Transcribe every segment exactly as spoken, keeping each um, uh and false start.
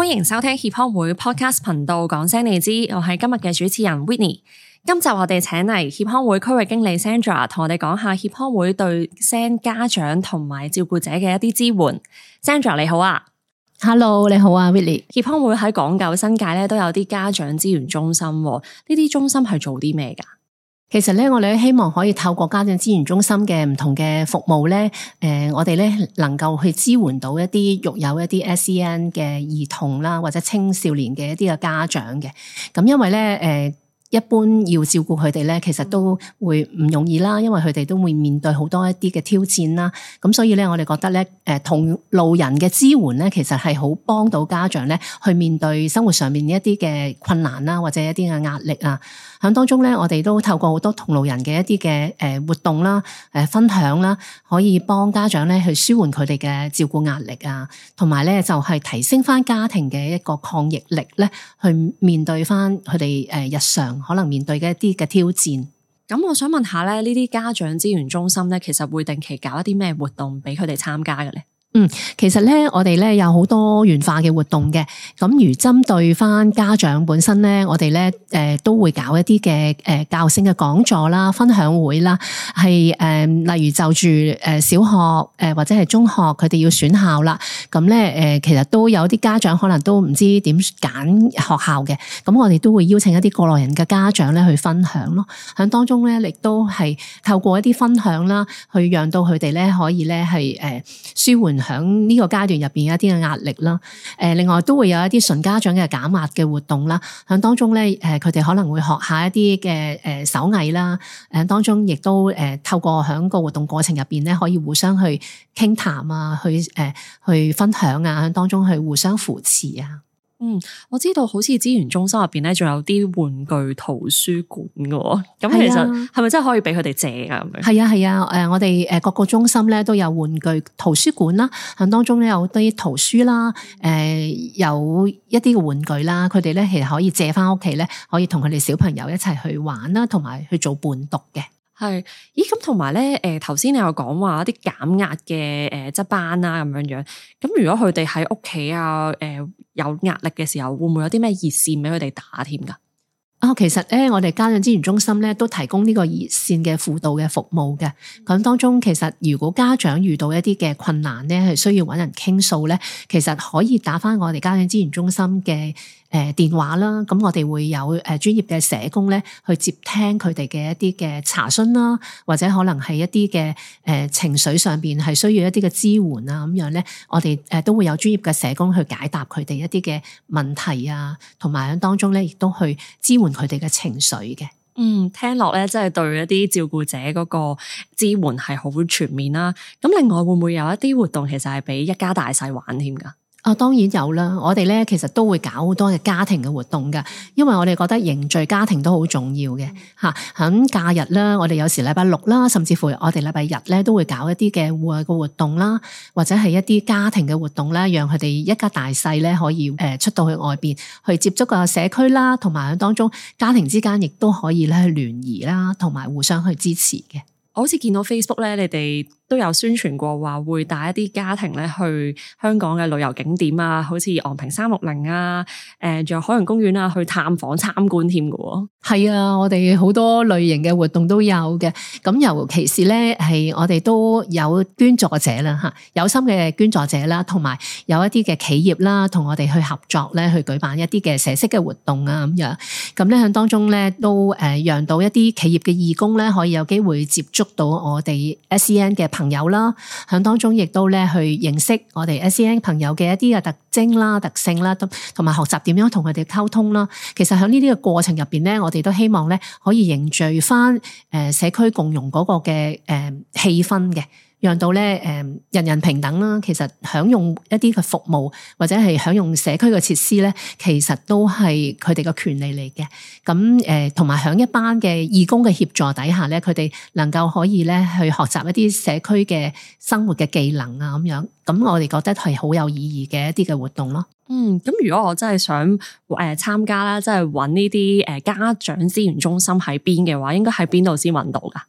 迎收聽協康會 Podcast 頻道，講聲你知，我係今日嘅主持人 Whitney。今集我哋請嚟協康會區域經理 Sandra 同我哋講下協康會對 S E N 家長同埋照顧者嘅一啲支援。Sandra 你好啊。 Hello， 你好啊 Whitney。 協康會喺港九新界咧都有啲家長資源中心，呢啲中心係做啲咩噶？ 其實咧，我哋希望可以透過家長資源中心嘅唔同嘅服務咧，誒、呃，我哋咧能夠去支援到一啲育有一啲 S E N 嘅兒童啦，或者青少年嘅一啲嘅家長嘅。咁因為咧，誒、呃。一般要照顧佢哋咧，其實都會唔容易啦，因為佢哋都會面對好多一啲嘅挑戰啦。咁所以咧，我哋覺得咧，誒同路人嘅支援咧，其實係好幫到家長咧，去面對生活上面一啲嘅困難啦，或者一啲嘅壓力啊。喺當中咧，我哋都透過好多同路人嘅一啲嘅誒活動啦、誒分享啦，可以幫家長咧去舒緩佢哋嘅照顧壓力啊，同埋咧就係提升翻家庭嘅一個抗逆力咧，去面對翻佢哋誒日常可能面對嘅一啲嘅挑戰。 咁我想問下咧，呢啲家長資源中心咧，其實會定期搞一啲咩活動俾佢哋參加嘅咧？ 嗯，其實咧，我哋咧有好多元化嘅活動嘅。咁如針對翻家長本身咧，我哋咧誒都會搞一啲嘅誒教育性嘅講座啦、分享會啦，係誒、呃、例如就住誒小學誒、呃、或者係中學，佢哋要選校啦。咁咧誒，其實都有啲家長可能都唔知點揀學校嘅。咁我哋都會邀請一啲過來人嘅家長咧去分享咯。喺當中咧，亦都係透過一啲分享啦，去讓到佢哋咧可以咧係誒舒緩喺呢個階段入邊一啲嘅壓力啦，誒，另外都會有一啲純家長嘅減壓嘅活動啦，喺當中咧，誒，佢哋可能會學下一啲嘅誒手藝啦，誒，當中亦都誒透過喺個活動過程入邊咧，可以互相去傾談啊，去誒去分享啊，喺當中去互相扶持啊。 嗯，我知道好似資源中心入邊咧，仲有啲玩具圖書館嘅，咁其實係咪真係可以俾佢哋借噶？咁樣係啊係啊，誒，我哋誒各個中心咧都有玩具圖書館啦，喺當中咧有啲圖書啦，誒，有一啲嘅玩具啦，佢哋咧其實可以借翻屋企咧，可以同佢哋小朋友一齊去玩啦，同埋去做伴讀嘅。 係，咦咁同埋咧，誒頭先你有講話一啲減壓嘅誒即班啦咁樣樣，咁如果佢哋喺屋企啊，誒、呃、有壓力嘅時候，會唔會有啲咩熱線俾佢哋打添噶？ 啊、哦，其實咧，我哋家長資源中心咧都提供呢個熱線嘅輔導嘅服務嘅。咁當中其實如果家長遇到一啲嘅困難咧，係需要揾人傾訴咧，其實可以打返我哋家長資源中心嘅誒電話啦。咁我哋會有誒專業嘅社工咧去接聽佢哋嘅一啲嘅查詢啦，或者可能係一啲嘅誒情緒上邊係需要一啲嘅支援啊咁樣咧，我哋誒都會有專業嘅社工去解答佢哋一啲嘅問題啊，同埋喺當中咧亦都去支援佢哋嘅情緒嘅。 嗯，聽落咧，真係對一啲照顧者嗰個支援係好全面啦。咁另外會唔會有一啲活動，其實係俾一家大細玩添噶？ 啊、哦，當然有啦！我哋咧其實都會搞好多嘅家庭嘅活動噶，因為我哋覺得凝聚家庭都好重要嘅吓。喺假日啦，我哋有時禮拜六啦，甚至乎我哋禮拜日咧都會搞一啲嘅戶外嘅活動啦，或者係一啲家庭嘅活動啦，讓佢哋一家大細咧可以誒出到去外邊去接觸個社區啦，同埋喺當中家庭之間亦都可以咧去聯誼啦，同埋互相去支持嘅。 我好似見到 Facebook 咧，你哋都有宣傳過話會帶一啲家庭咧去香港嘅旅遊景點啊，好似昂坪三六零啊，誒，仲有海洋公園啊，去探訪參觀添嘅。 係啊，我哋好多類型嘅活動都有嘅。咁尤其是咧，係我哋都有捐助者啦，吓，有心嘅捐助者啦，同埋有一啲嘅企業啦，同我哋去合作咧，去舉辦一啲嘅社式嘅活動啊，咁樣。咁咧喺當中咧，都誒讓到一啲企業嘅義工咧，可以有機會接觸到我哋 S E N 嘅朋友啦，喺當中亦都咧去認識我哋 S E N 朋友嘅一啲嘅特徵啦、特性啦，同埋學習點樣同佢哋溝通啦。其實喺呢啲嘅過程入邊咧，我哋都希望咧可以凝聚翻誒社區共融嗰個嘅誒氣氛嘅。讓到咧誒人人平等啦，其實享用一啲嘅服務或者係享用社區嘅設施咧，其實都係佢哋嘅權利嚟嘅。咁誒同埋喺一班嘅義工嘅協助底下咧，佢哋能夠可以咧去學習一啲社區嘅生活嘅技能啊咁樣。咁我哋覺得係好有意義嘅一啲嘅活動咯。 嗯，咁如果我真係想誒參加啦，即係揾呢啲誒家長資源中心喺邊嘅話，應該喺邊度先揾到噶？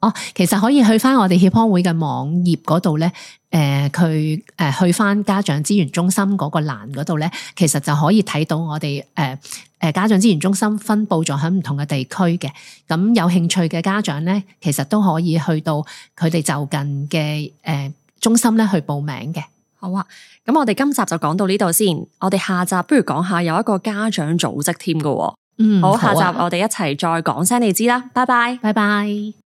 哦，其實可以去翻我哋協康會嘅網頁嗰度咧，誒佢誒去翻家長資源中心嗰個欄嗰度咧，其實就可以睇到我哋誒誒家長資源中心分佈咗喺唔同嘅地區嘅。咁有興趣嘅家長咧，其實都可以去到佢哋就近嘅誒中心咧去報名嘅。 好啊，咁我哋今集就講到呢度先，我哋下集不如講下有一個家長組織添㗎喎。 嗯， 好，下好啊， 集我哋一齊再講聲你知啦，拜拜， 拜拜。